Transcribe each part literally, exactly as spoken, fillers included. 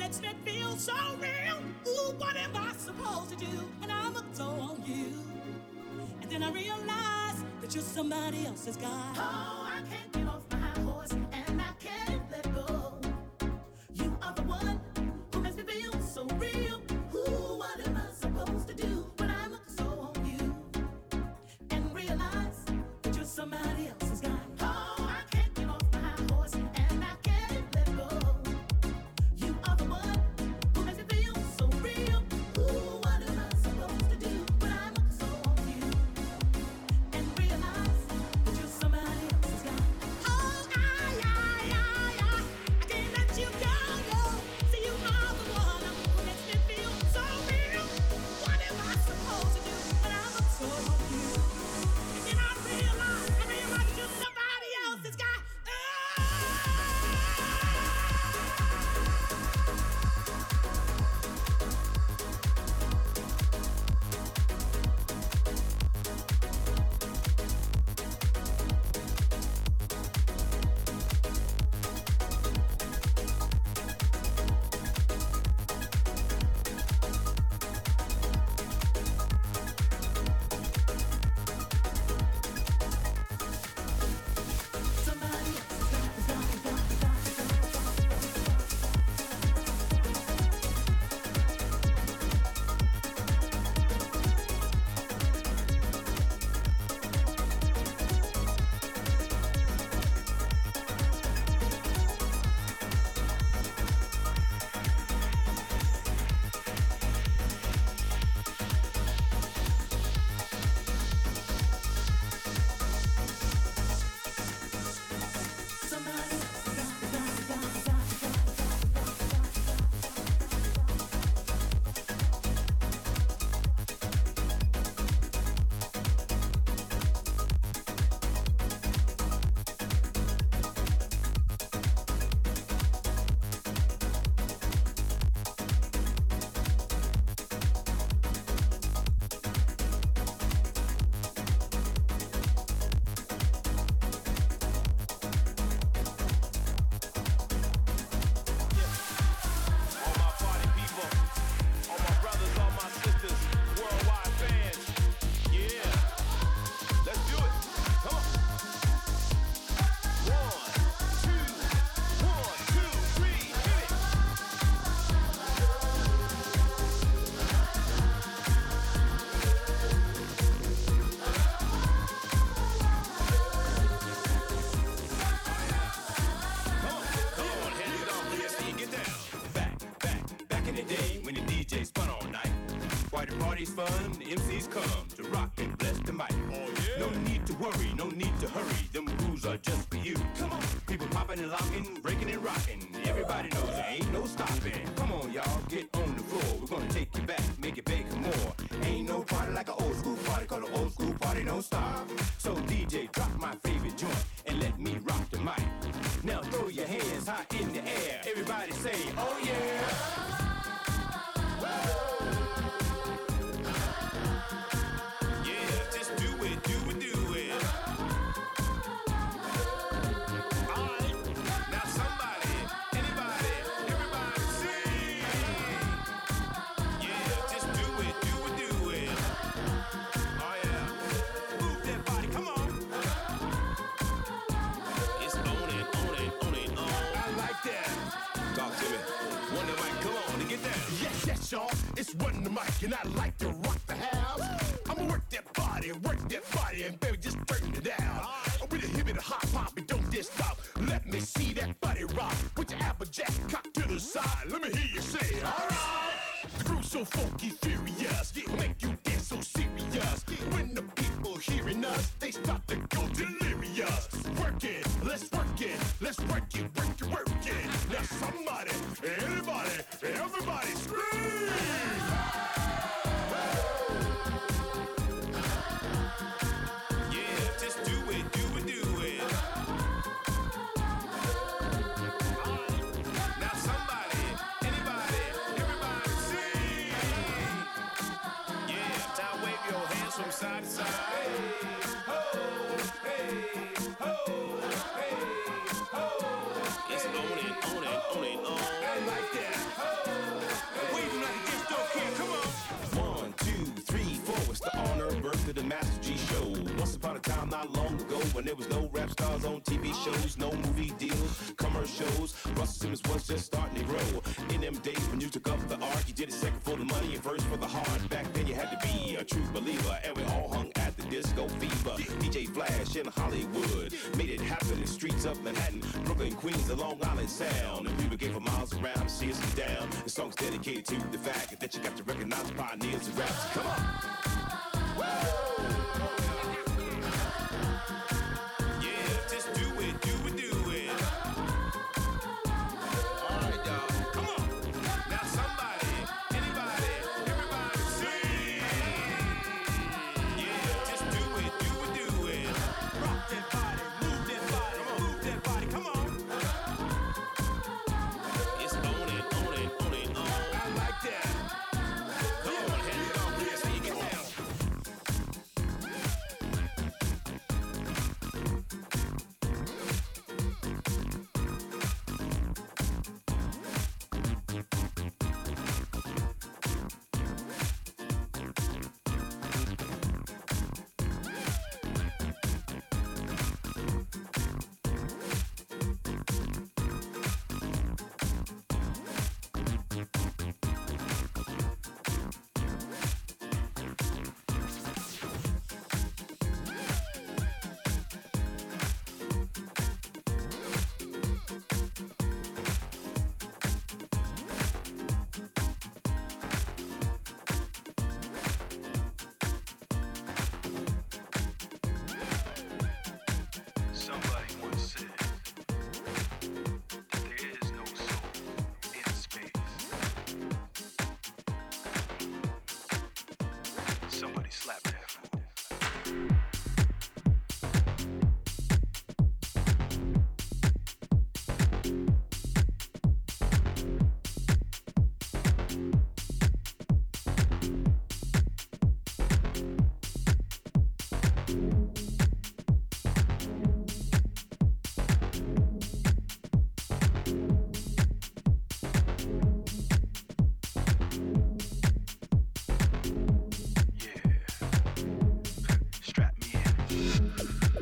makes me feel so real. Ooh, what am I supposed to do? And I'm hooked on you. And then I realize that you're somebody else's guy. Oh, I can't get off my high horse, and I can't let go. You are the one who makes me feel so real. Ooh, what am I supposed to do when I'm hooked so on you? And realize that you're somebody else's guy. Oh, I can't get off my high horse, and I can't let go. You are the one who makes me feel so real. Ooh, what am I supposed to do when I'm hooked so on you? And realize that you're somebody else's guy. Oh, I, I, I, I, I can't let you go, no. See, you are the one who makes me feel so real. What am I supposed to do when I'm hooked so on you? And then I realize, I realize that you're somebody else's guy. From side to side, hey, ho, hey, ho, hey, ho. It's on and on and on and on. I like that. Ho. was just starting to grow. In them days when you took up the art, you did it second for the money and first for the heart. Back then you had to be a true believer, and we all hung at the Disco Fever. D J Flash in Hollywood made it happen in the streets of Manhattan, Brooklyn, Queens, the Long Island Sound. And we would get for miles around to see us down. The song's dedicated to the fact that you got to recognize the pioneers of rap. Come on! Yeah, just do it, do it, do it. All right, y'all. Come on. Now somebody, anybody, everybody sing. Yeah, just do it, do it, do it. Rock that body, move that body, move that body. Come on. It's on it, on it, on it, on. I like that. Come on, hand it on. Here's how you get down. Somebody once said that there is no soul in space. Somebody slap that fool. Strap me in.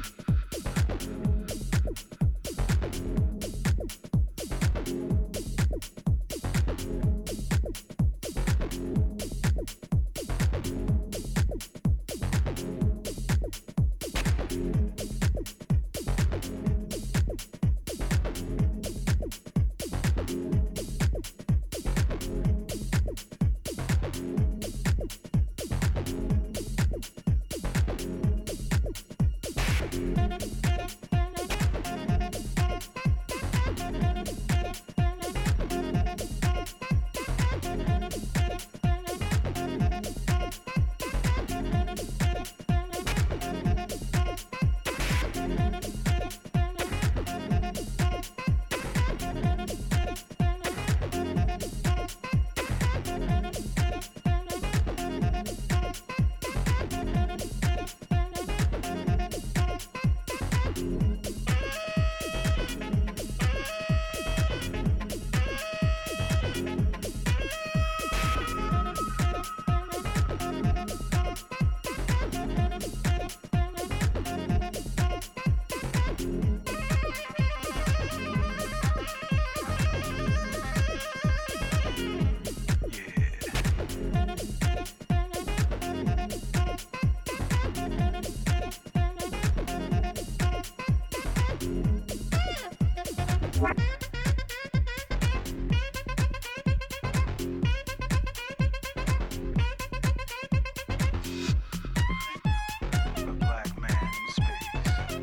A black man in space.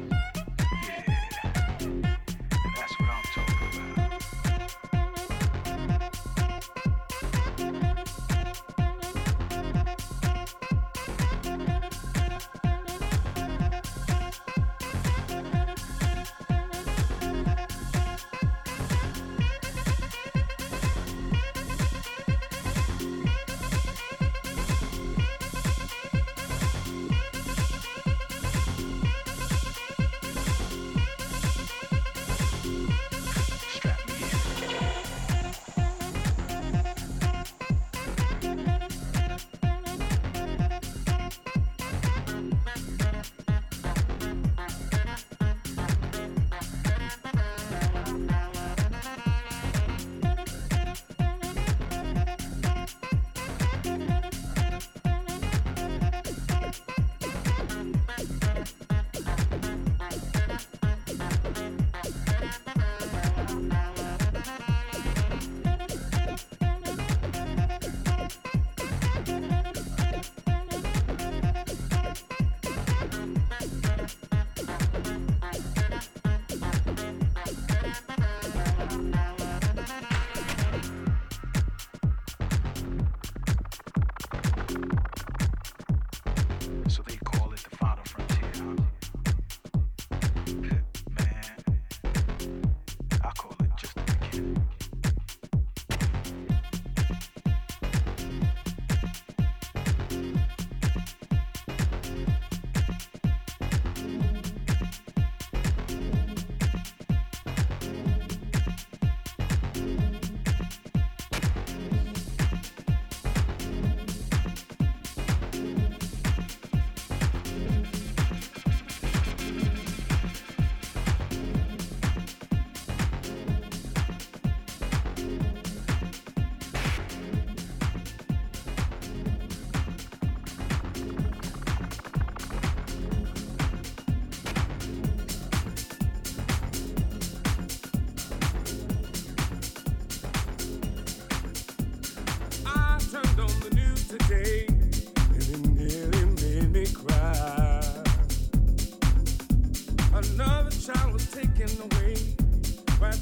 Yeah, that's what I'm talking about.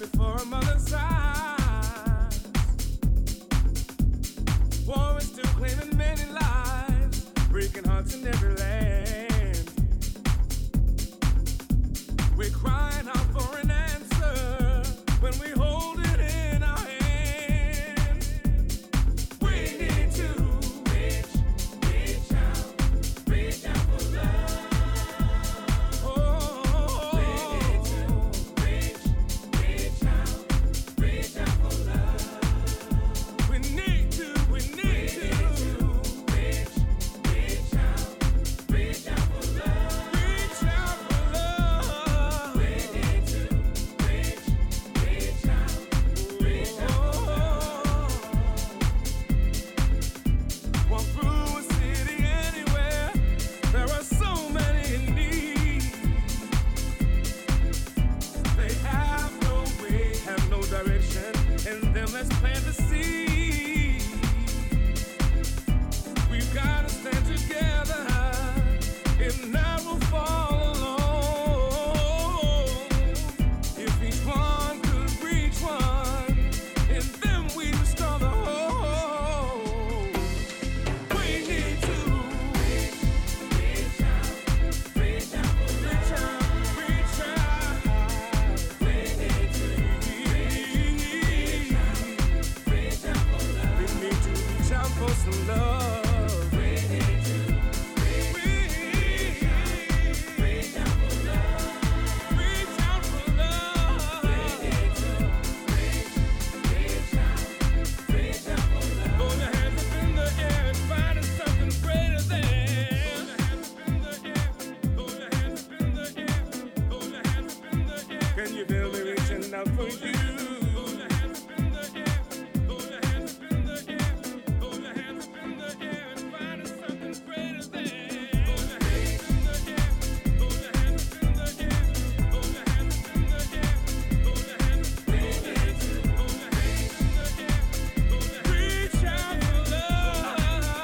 before a mother's eyes. War is still claiming many lives, breaking hearts in every land. We're crying out for an answer when we hold it in our hand. We need to reach, reach out, reach out for love. Oh, we need to reach, reach out, reach out for love. We need to, we need to reach, reach out, reach out for love. Reach out for love. We need to reach, reach out, reach out for love. Walk through a city anywhere, there are so many in need. They have no way, have no direction, and then let's plant the seed. We've got to stand together, if not we'll fall alone. If each one could reach one, and then we restore the whole. We need to reach, reach out, reach out for reach out, reach out. We need to reach, reach out, reach out for love. We need to reach out for some love. We need to reach, reach out for love. Reach out for love. We need to reach, reach out, reach out for love. Throw your hands up in the air and find something greater than. Throw your hands up in the air. Throw your hands up in the air. Throw your hands up in the air. Can you feel me reaching out for you? Throw your hands up in the air. Throw your hands up in the air. Throw your hands up in the air and find something greater than. Throw your hands up in the air. Throw your hands up in the air. Throw your hands up in the air. Throw your hands up in the air. Throw your hands up in the air. Reach out for love.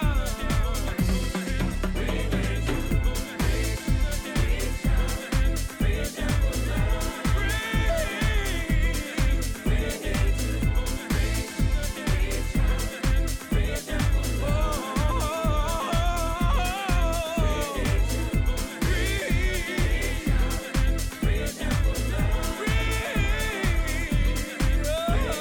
We need to reach out, reach out for love. We need to reach, reach out, reach out for love. We need to reach out, reach out for love. We need to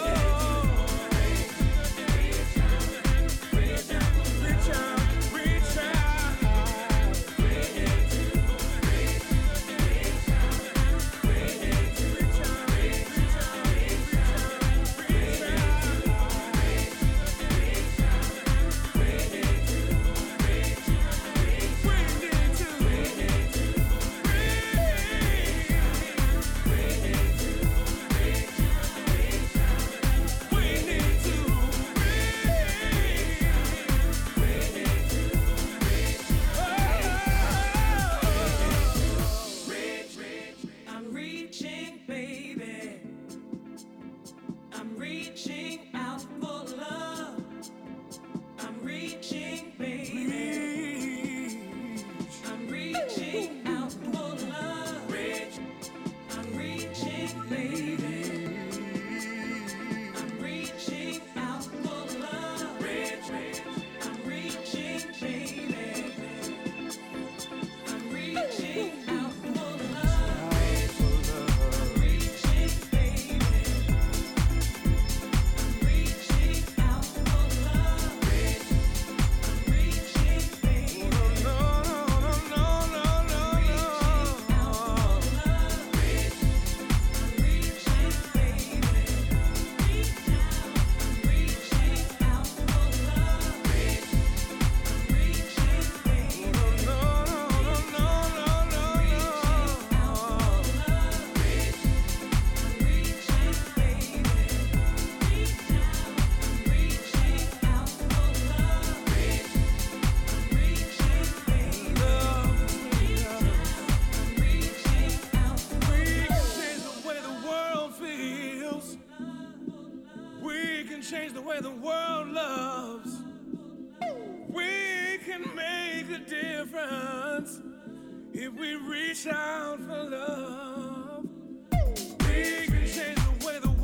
reach out, reach out, reach out. We need to reach, reach out, we need to reach out, reach out, reach out, reach out. We need to reach, we need to reach, we need to I'm reaching, baby. I'm reaching out for love. I'm reaching, baby. I'm reaching out for love. Reach. I'm reaching, baby. I'm reaching out for love. Reach. I'm reaching, baby. I'm reaching out for love. I'm reaching, baby. I'm reaching out for love. I'm reaching, baby. No, no, no, no, no, no, Reaching out for love. I'm reaching, baby. Reach out. I'm reaching out for love. I'm reaching, baby. no, no, no, no, no, no, We can change the way the world loves. We can make a difference if we reach out for love. We can change the way the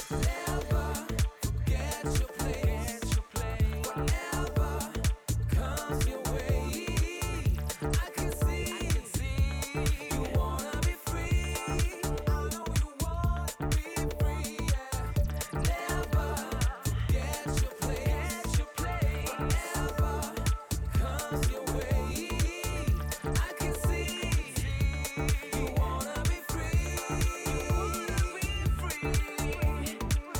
Free.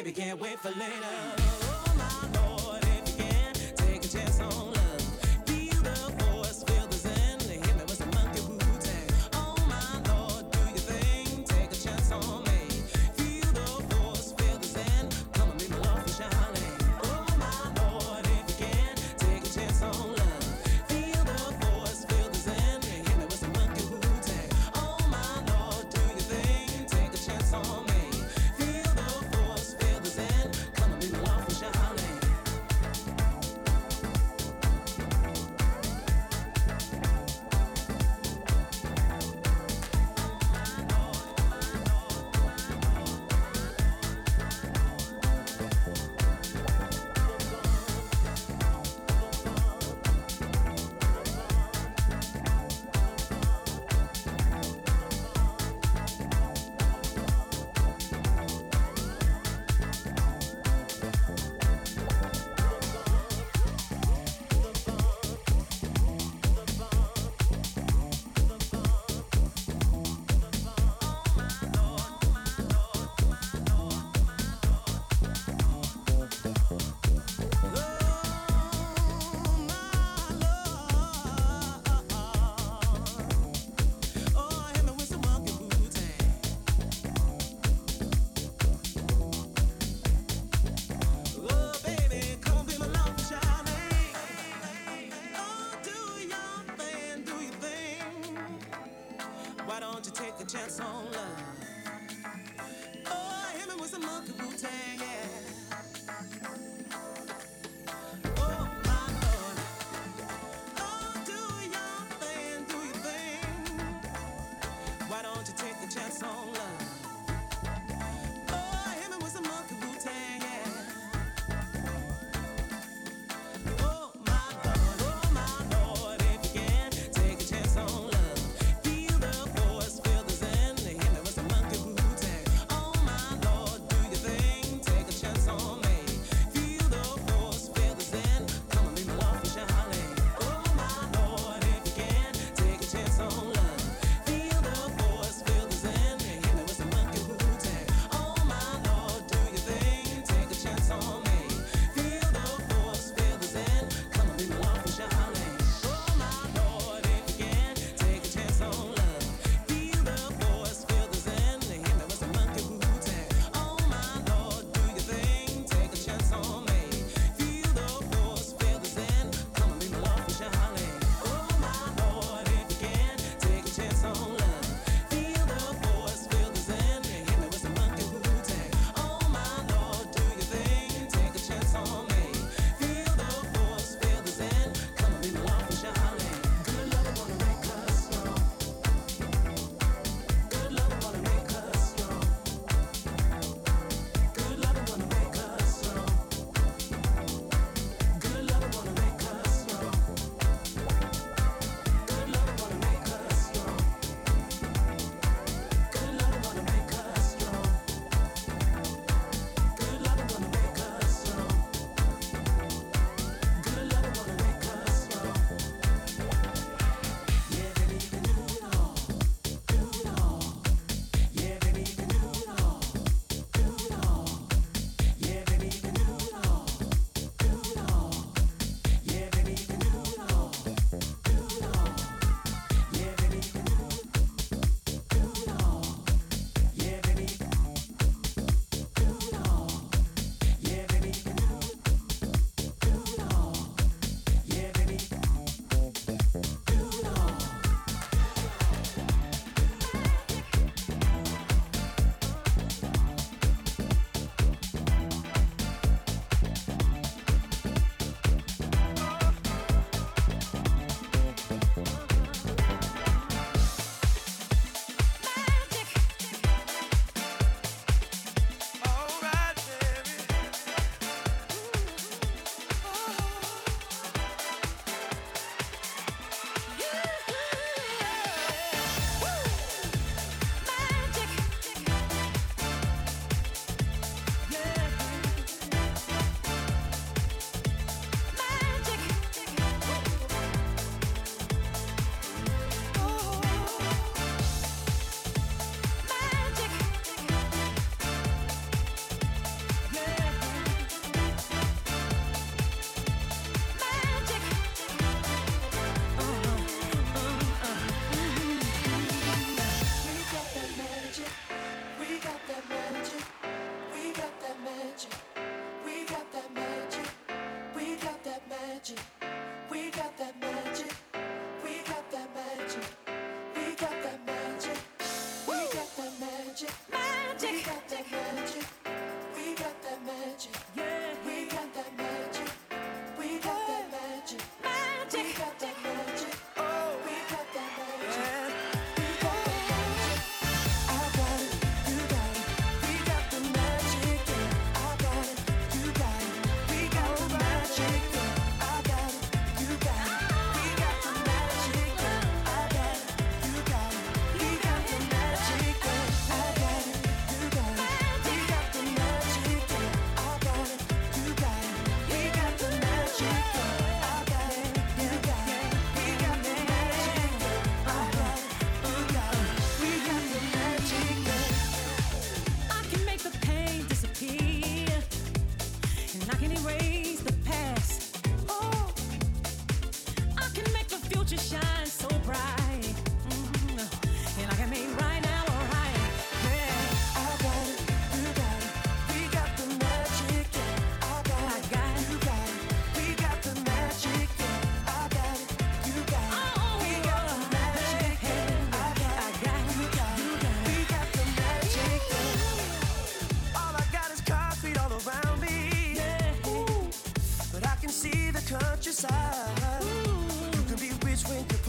baby, can't wait for later. Oh my Lord, if you can, take a chance on love. Feel the force, feel the zen. Hit me with some monkey Wu-Tang. Oh my Lord, do your thing, take a chance on me. Feel the force, feel the zen. Come and meet my love for Charlene. Oh my Lord, if you can, take a chance on love. Feel the force, feel the zen. Hit me with some monkey Wu-Tang. Oh my Lord, do your thing, take a chance on me. Feel the force, feel the zen. Come and meet my love for Charlene. Why don't you take a chance on love? Oh, hit me with some monkey Wu-Tang, yeah. Oh, my Lord. Oh, do your thing, do your thing. Why don't you take a chance on love? Oh, hit me with some monkey Wu-Tang, yeah. Oh, my Lord, oh, my Lord, if you can, take a chance on love. Feel the force, feel the zen. Hit me with some monkey Wu-Tang. Oh, my Lord, do your thing, take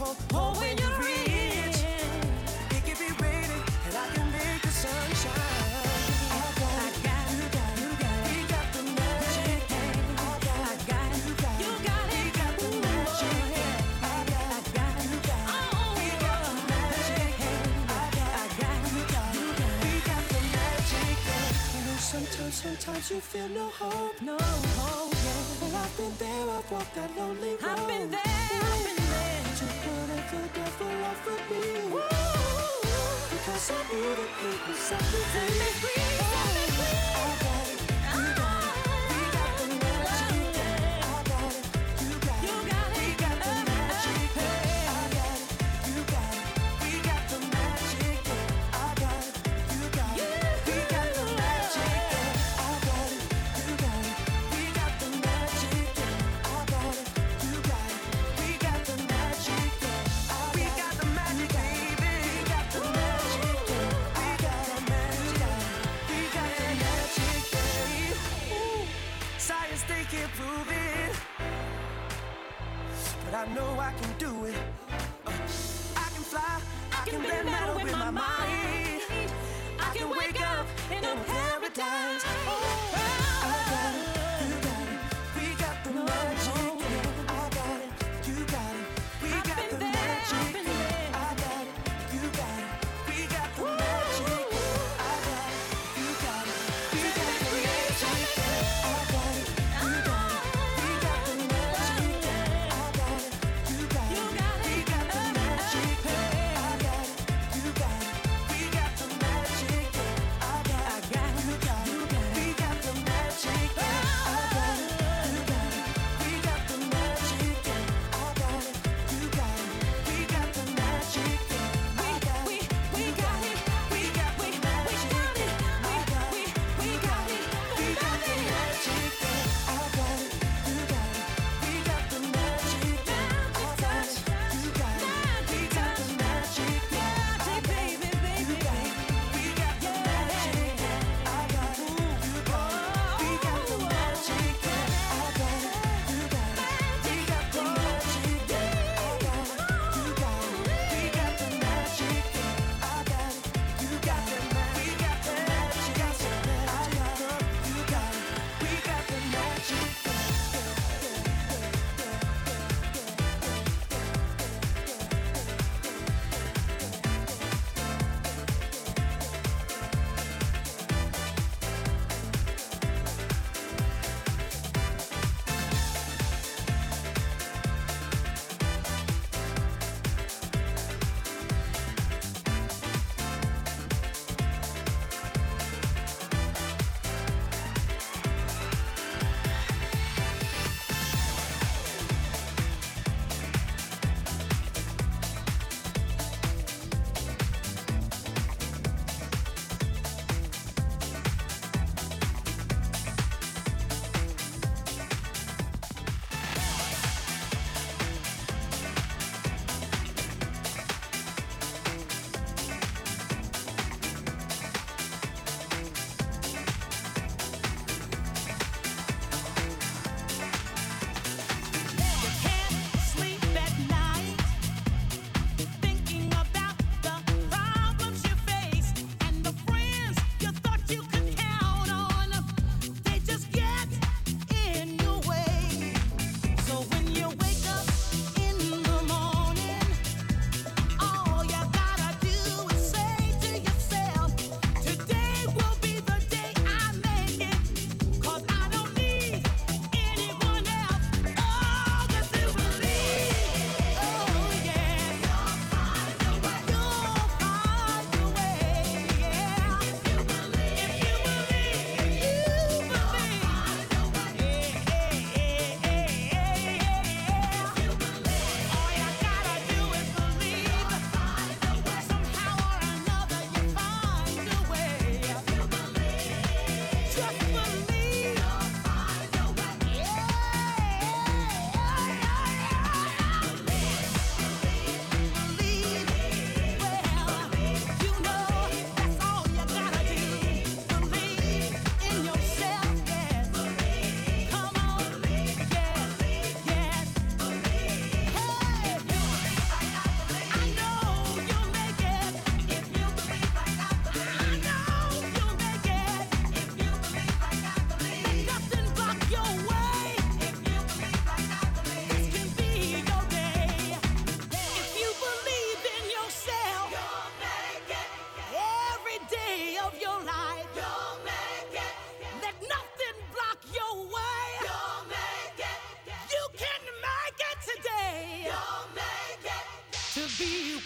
Oh, when you're rich, it can be raining, and I can make the sunshine. I got, I got, you got, you got, we got the magic. I got, I got, you got, you got it. We got the magic. I got, I got, you got, we got the magic. I got, I got, you got, you got, we got the magic. I know sometimes, sometimes you feel no hope, no hope. Well, I've been there, I've walked that lonely road. I've been there, I've been there. Took whatever the devil offered me. Woo! Because I knew that he was set me free. Set me free, set me free. I got it, you got it. We got the magic. I got it, you got it. You got it. We got the magic. I got it, you got it. We got the magic. I got it, you got it. We got the magic. I got it, you got it. We got the magic. I got it, you got it. We got the magic. We got the magic, baby. We got the magic. We got the magic.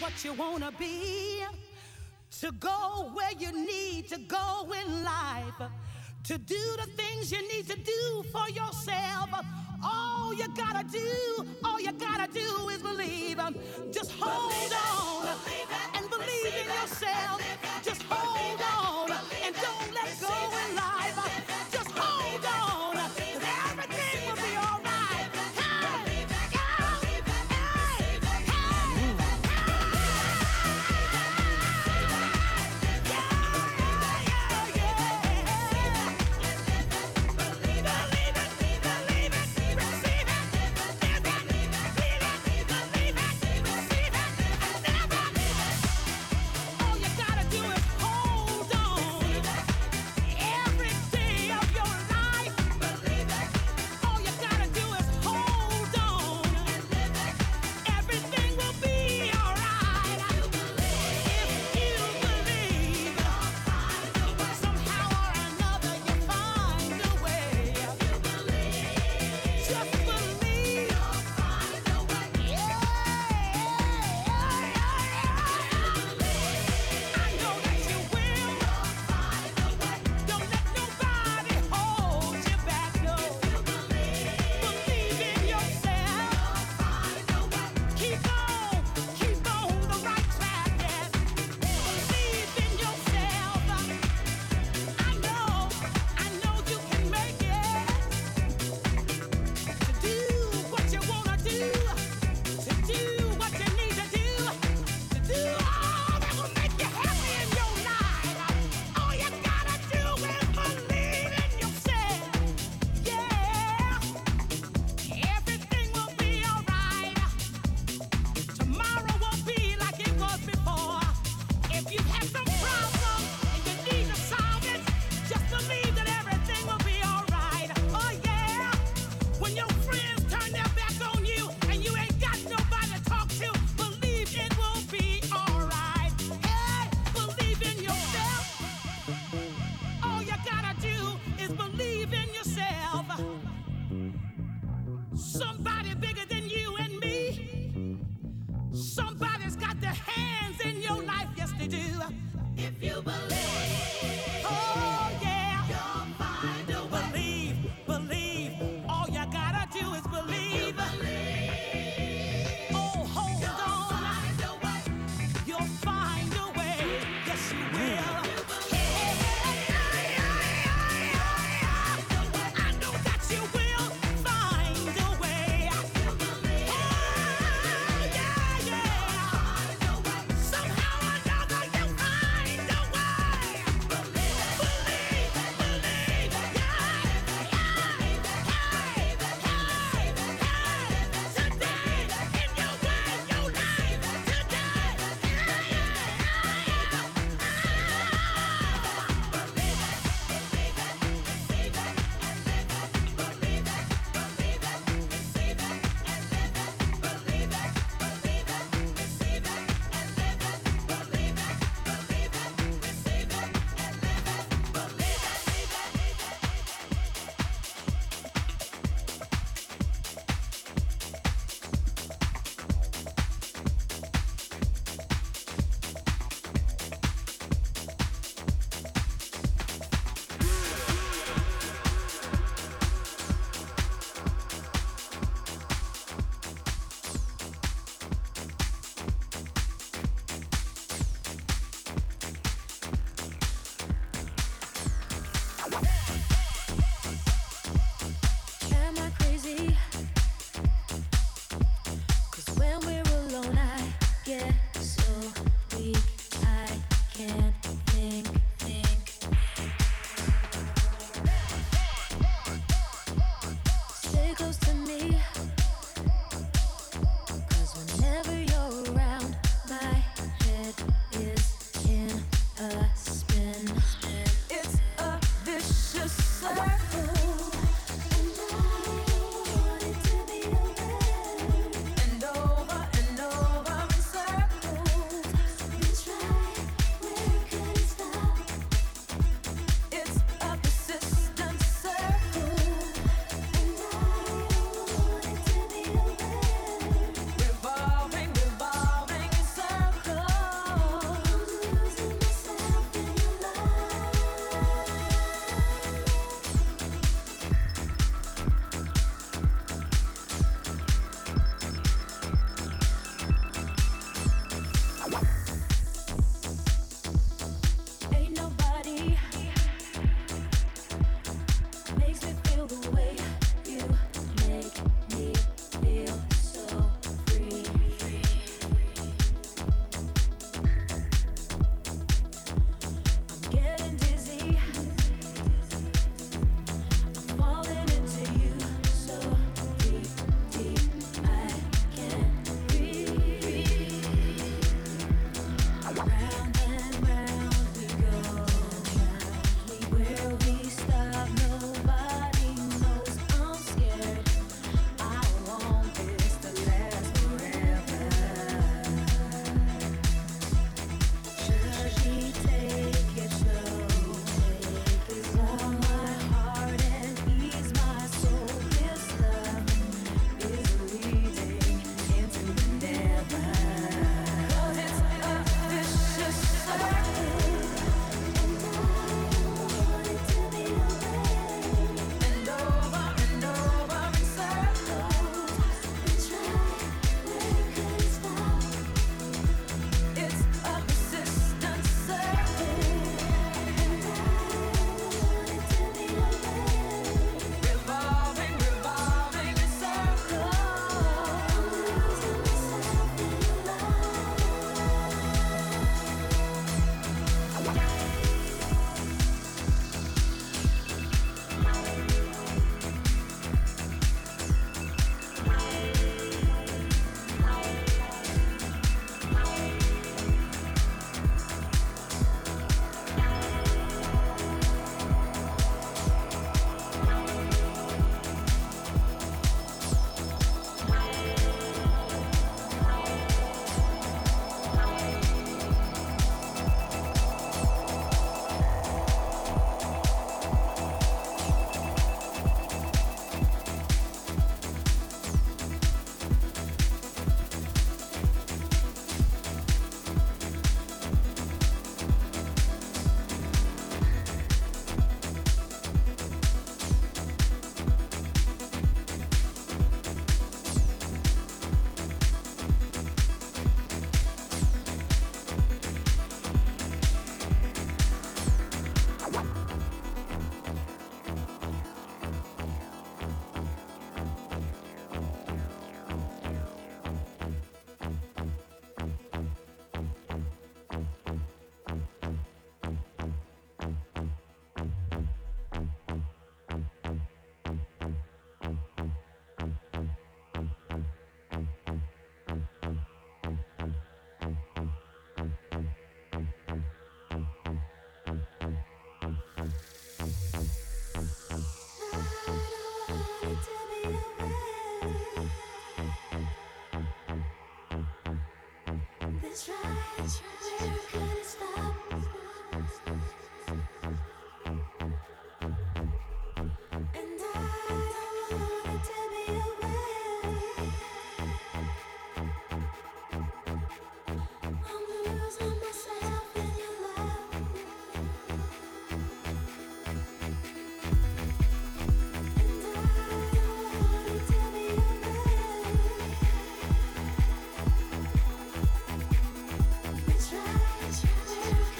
what you wanna be, to go where you need to go in life, to do the things you need to do for yourself. All you gotta do, all you gotta do is believe. Just hold on and believe in yourself. Just hold on and don't let go in life. Just hold on, 'cause everything will be all right. Hey, hey, hey, all you gotta do is hold on. Every day of your life, all you gotta do is hold on. Everything will be alright. If you believe, somehow or another you find a way. Just believe. Yeah. I know that you will. Don't let nobody hold you back, no. Believe in yourself. Keep on, keep on the right track, yes. Believe in yourself. I know, I know you can make it. To do what you wanna do, to do what you need to do, to do all that will make you happy in your life. All you gotta do is believe in yourself. Yeah, everything will be alright. Tomorrow won't be like it was before. If you have some problem and you need to solve it, just believe that everything will be alright. Oh yeah, when your friends turn their back on you and you ain't got nobody to talk to, believe it will be alright. Hey, believe in yourself. All you gotta do is believe in yourself. Somebody bigger than you and me. Somebody's got their hands in your life, yes they do. If you believe, oh yeah, you'll find a way. Believe, believe. All you gotta do is believe. Oh, hold on. You'll find a way. Yes, you will. I know that you will find a way. Oh, yeah, yeah. Try, try.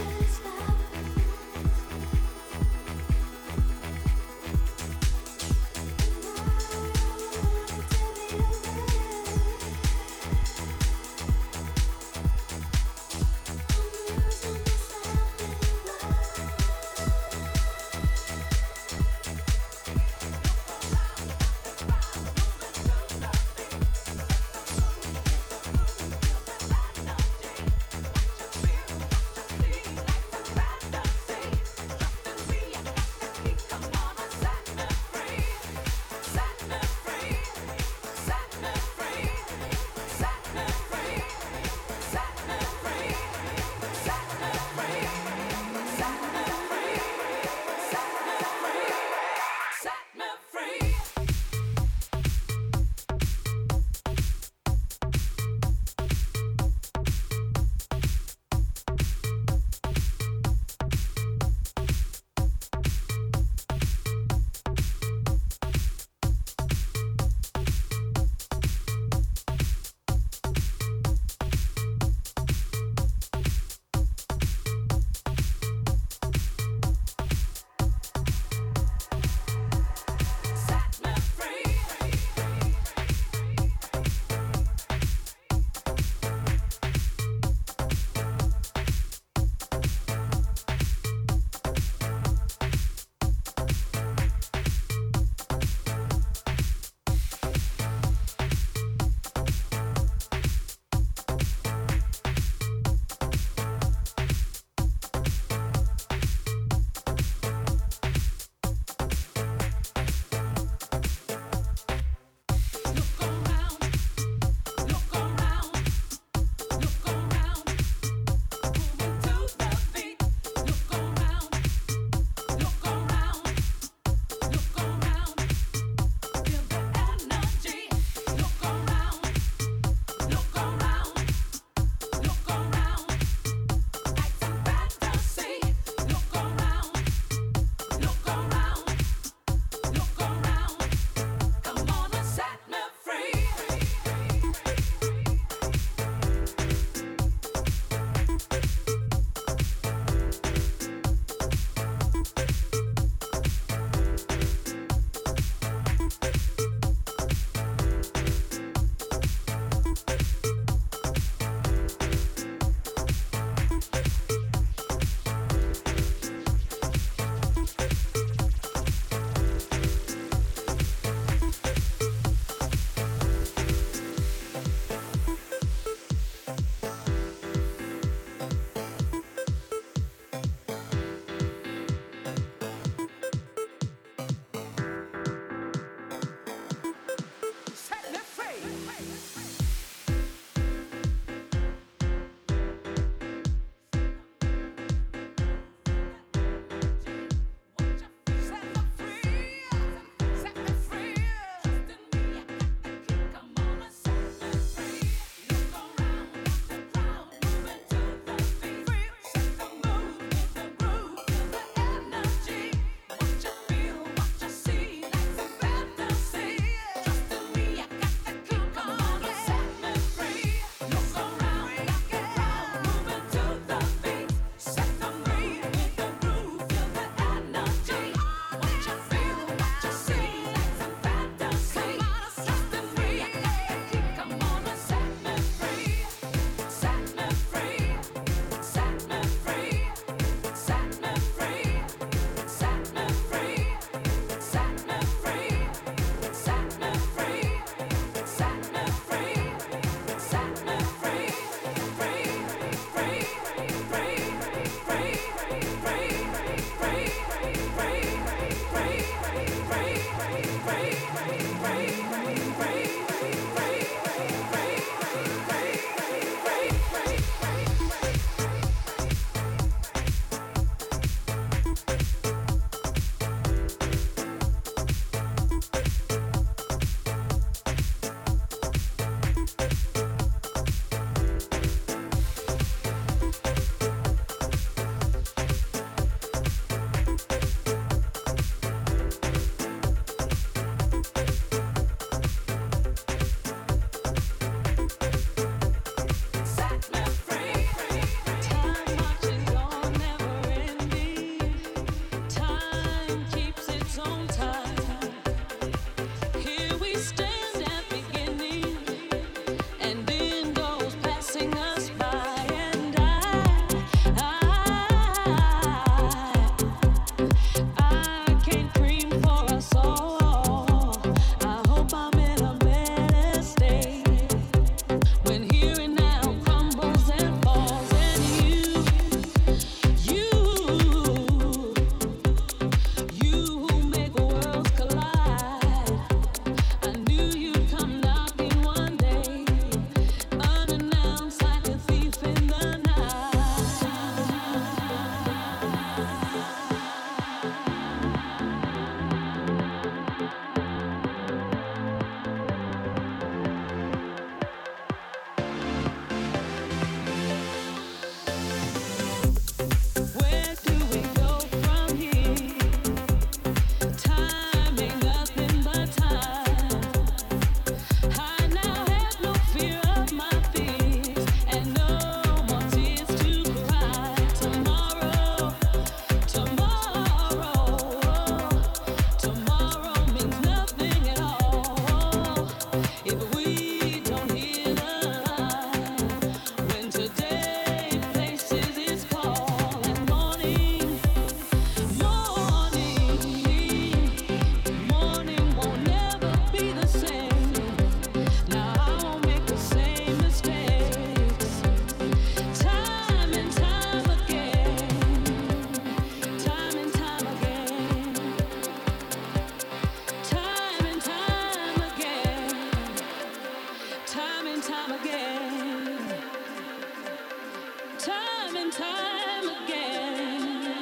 time and time again.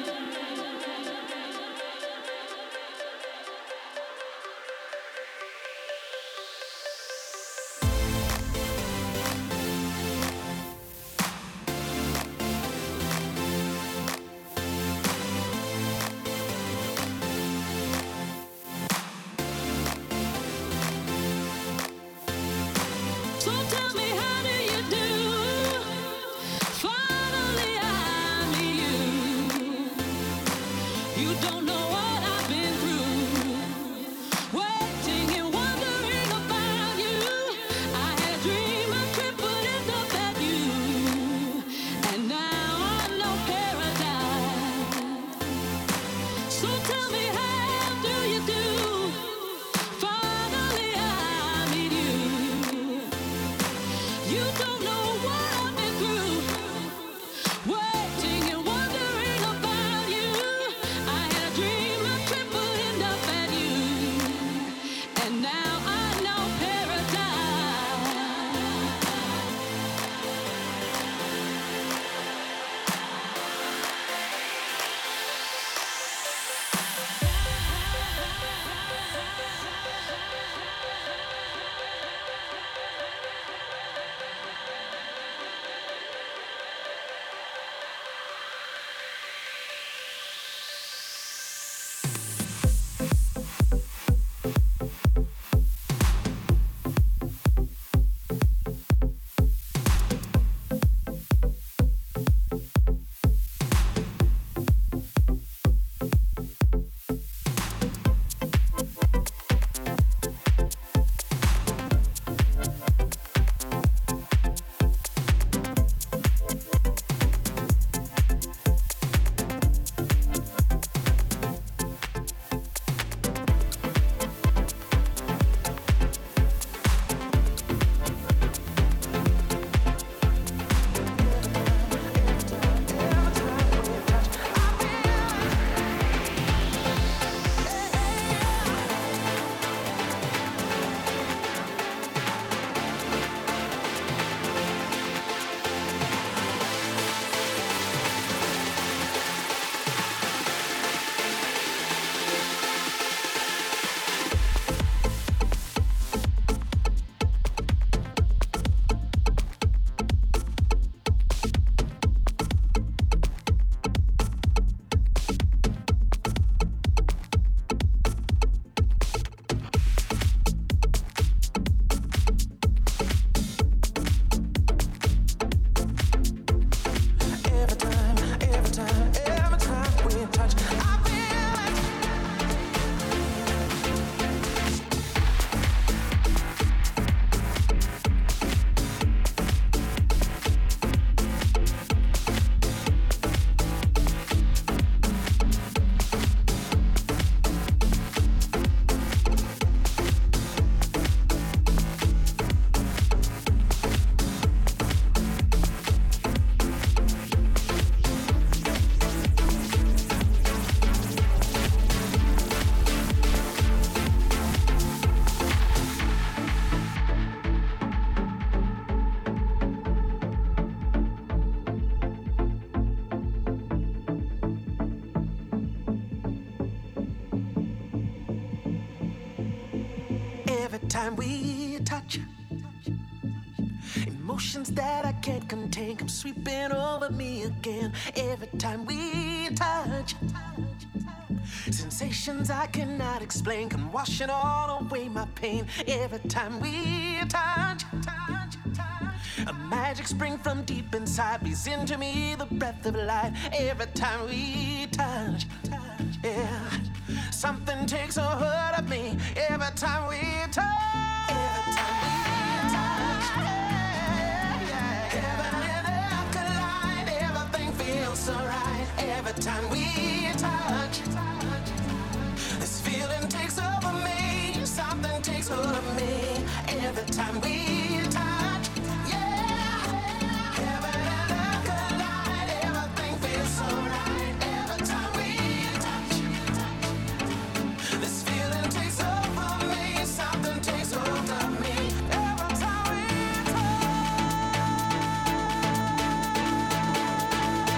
So tell me, how do you do? Finally I meet you. You don't know what I've been through, waiting and wondering about you. I had a dream a trip would end up at you, and now I know paradise. So tell me, how do you do? Finally I meet you. You don't know what I've been through, waiting and wondering about you. I had a dream a trip would end up at you, and now I know paradise. Every time, every time, every time we touch, I feel it. Every time we touch, emotions that I can't contain come sweeping over me again. Every time we touch, sensations I cannot explain come washing all away my pain. Every time we touch, a magic spring from deep inside breathes into me the breath of life. Every time we touch, yeah, something takes a hold of me. Every time we touch, every time we touch, yeah, yeah. Heaven and earth collide. Everything feels so right. Every time we touch, this feeling takes over me. Something takes hold of me. Every time we touch, yeah. Heaven and earth collide. Everything feels so right. Every time we touch, this feeling takes over me. Something takes hold of me. Every time we touch.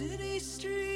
city streets.